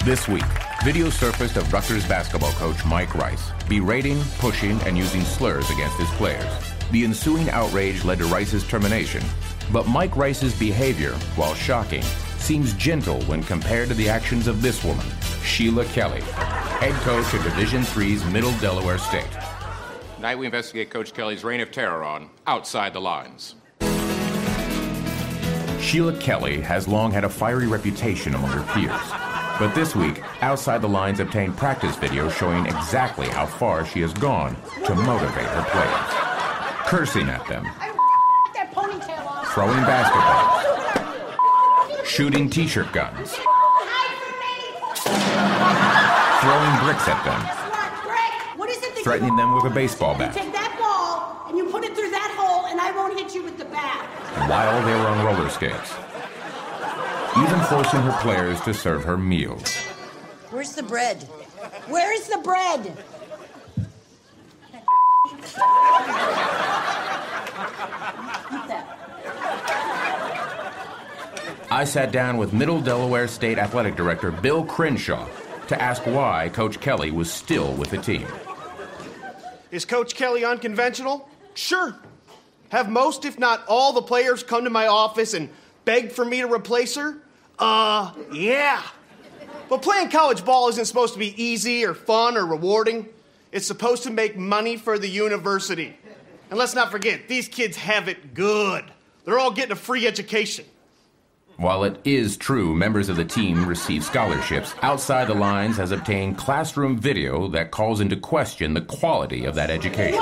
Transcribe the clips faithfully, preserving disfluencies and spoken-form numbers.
This week, video surfaced of Rutgers basketball coach Mike Rice berating, pushing, and using slurs against his players. The ensuing outrage led to Rice's termination, but Mike Rice's behavior, while shocking, seems gentle when compared to the actions of this woman, Sheila Kelley, head coach of Division three's Middle Delaware State. Tonight we investigate Coach Kelley's reign of terror on Outside the Lines. Sheila Kelley has long had a fiery reputation among her peers. But this week, Outside the Lines obtained practice video showing exactly how far she has gone to motivate her players. Cursing at them, throwing basketballs, shooting t-shirt guns, throwing bricks at them, threatening them with a baseball bat. You take that ball and you put it through that hole and I won't hit you with the bat. While they were on roller skates. Even forcing her players to serve her meals. Where's the bread? Where's the bread? I sat down with Middle Delaware State Athletic Director Bill Crenshaw to ask why Coach Kelley was still with the team. Is Coach Kelley unconventional? Sure. Have most, if not all, the players come to my office and beg for me to replace her? Uh, yeah. But playing college ball isn't supposed to be easy or fun or rewarding. It's supposed to make money for the university. And let's not forget, these kids have it good. They're all getting a free education. While it is true members of the team receive scholarships, Outside the Lines has obtained classroom video that calls into question the quality of that education.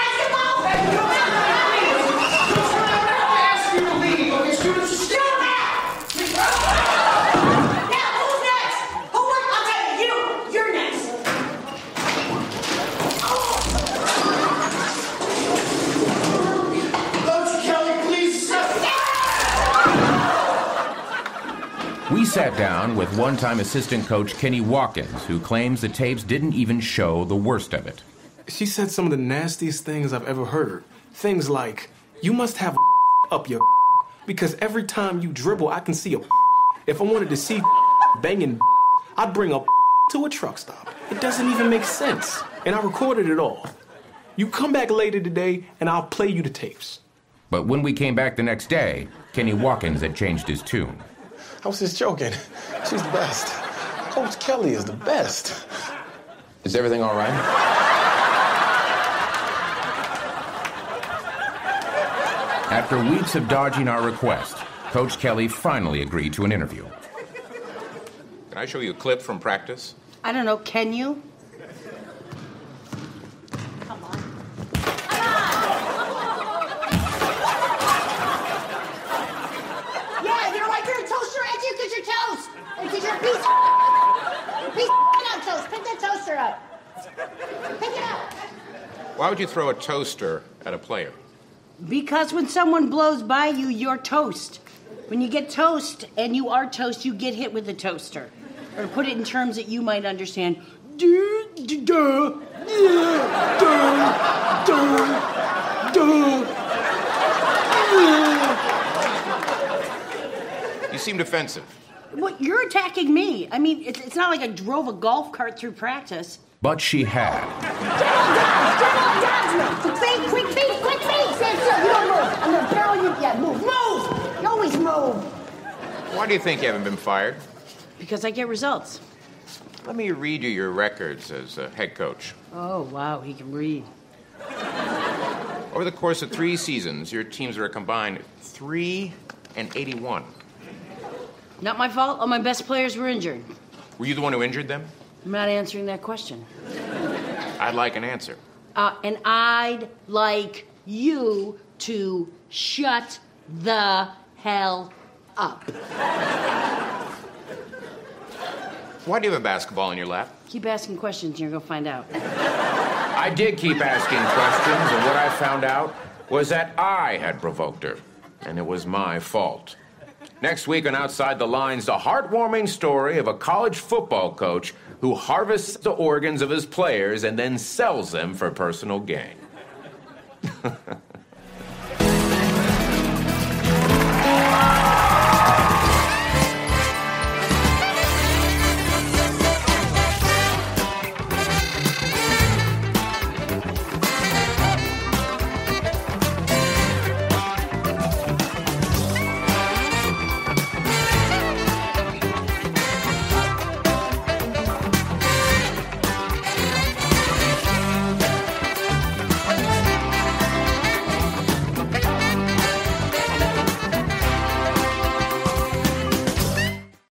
We sat down with one-time assistant coach Kenny Watkins, who claims the tapes didn't even show the worst of it. She said some of the nastiest things I've ever heard. Things like, you must have up your because every time you dribble, I can see a If I wanted to see banging, I'd bring a to a truck stop. It doesn't even make sense. And I recorded it all. You come back later today, and I'll play you the tapes. But when we came back the next day, Kenny Watkins had changed his tune. I was just joking. She's the best. Coach Kelley is the best. Is everything all right? After weeks of dodging our request, Coach Kelley finally agreed to an interview. Can I show you a clip from practice? I don't know, can you? Come on. Come on! Yeah, you know why you're a toaster at you? Because you're toast. And because you're a piece of piece of out toast. Pick that toaster up. Pick it up. Why would you throw a toaster at a player? Because when someone blows by you, you're toast. When you get toast and you are toast, you get hit with a toaster. Or to put it in terms that you might understand, duh, duh, duh, duh, duh, duh. You seem defensive. Well, you're attacking me. I mean, it's, it's not like I drove a golf cart through practice. But she had. Quick feet, quick feet, quick feet. Stand still. You don't move. I'm going to barrel you. Yeah, move. Move. You always move. Why do you think you haven't been fired? Because I get results. Let me read you your records as a head coach. Oh, wow, he can read. Over the course of three seasons, your teams were a combined three and eighty-one. Not my fault. All my best players were injured. Were you the one who injured them? I'm not answering that question. I'd like an answer. Uh, and I'd like you to shut the hell up. Why do you have a basketball in your lap? Keep asking questions and you're going to find out. I did keep asking questions, and what I found out was that I had provoked her, and it was my fault. Next week on Outside the Lines, the heartwarming story of a college football coach who harvests the organs of his players and then sells them for personal gain.